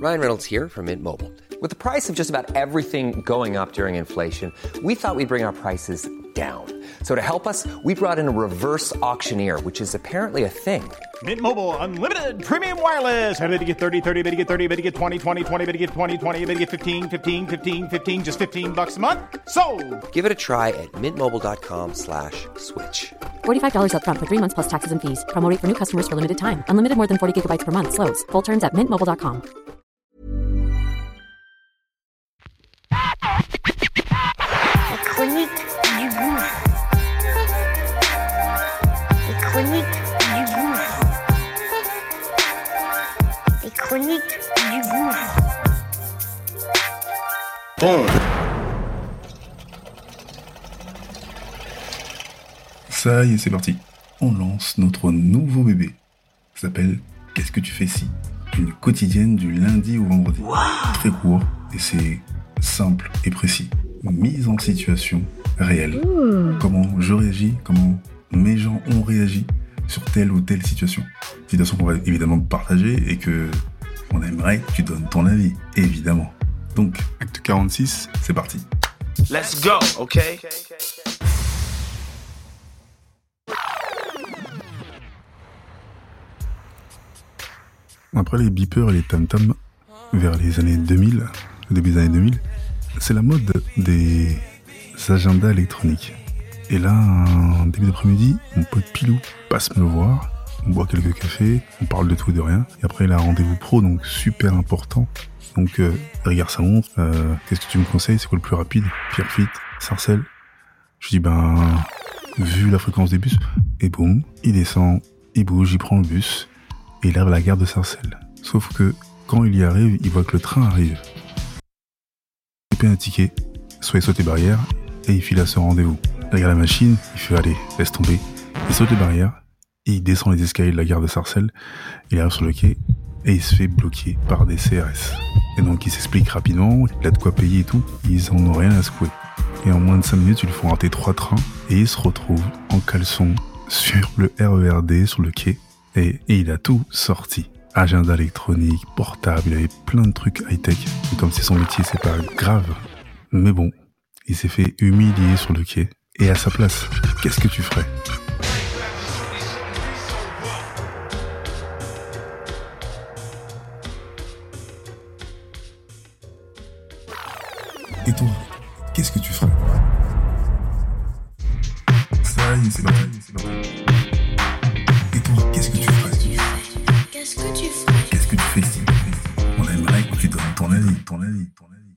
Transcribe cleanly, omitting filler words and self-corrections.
Ryan Reynolds here from Mint Mobile. With the price of just about everything going up during inflation, we thought we'd bring our prices down. So to help us, we brought in a reverse auctioneer, which is apparently a thing. Mint Mobile Unlimited Premium Wireless. How to get 30, 30, bit to get 30, bit to get 20, 20, 20, bit to get 20, 20, bit to get 15, 15, 15, 15, just $15 a month? Sold! Give it a try at mintmobile.com/switch. $45 up front for 3 months plus taxes and fees. Promo rate for new customers for limited time. Unlimited more than 40 gigabytes per month. Slows full terms at mintmobile.com. La chronique du gouffre. Les chroniques du gouffre. Les chroniques du gouffre. Bon. Ça y est, c'est parti. On lance notre nouveau bébé. Ça s'appelle Qu'est-ce que tu fais si ? Une quotidienne du lundi au vendredi. Wow. Très court et c'est simple et précis. Mise en situation réelle. Comment je réagis, comment mes gens ont réagi sur telle ou telle situation. Situation qu'on va évidemment partager et que on aimerait que tu donnes ton avis, évidemment. Donc, acte 46, c'est parti. Let's go, okay? Après les beepers et les tam-tams, vers les années 2000, le début des années 2000, c'est la mode des agendas électroniques. Et là, un début d'après-midi, mon pote Pilou passe me voir, on boit quelques cafés, on parle de tout et de rien, et après il a un rendez-vous pro, donc super important. Donc il regarde sa montre, qu'est-ce que tu me conseilles, c'est quoi le plus rapide ? Pierrefitte, Sarcelles ? Je dis vu la fréquence des bus, et boum, il descend, il bouge, il prend le bus, et il arrive à la gare de Sarcelles. Sauf que, quand il y arrive, il voit que le train arrive. Il paie un ticket, soit il saute les barrières, et il file à son rendez-vous. Il regarde la machine, il fait allez, laisse tomber. Il saute les barrières, et il descend les escaliers de la gare de Sarcelles, il arrive sur le quai, et il se fait bloquer par des CRS. Et donc il s'explique rapidement, il a de quoi payer et tout, ils en ont rien à secouer. Et en moins de 5 minutes, ils lui font rater 3 trains, et il se retrouve en caleçon sur le RERD, sur le quai, et il a tout sorti. Agenda électronique, portable, il avait plein de trucs high-tech. Et comme c'est son métier, c'est pas grave. Mais bon, il s'est fait humilier sur le quai. Et à sa place, qu'est-ce que tu ferais ? Et toi, qu'est-ce que tu ferais ? Ça y est, c'est parti. Et toi, qu'est-ce que tu ferais ? Qu'est-ce que tu ferais ? Qu'est-ce que tu fais ici ? On aimerait que tu donnes ton avis.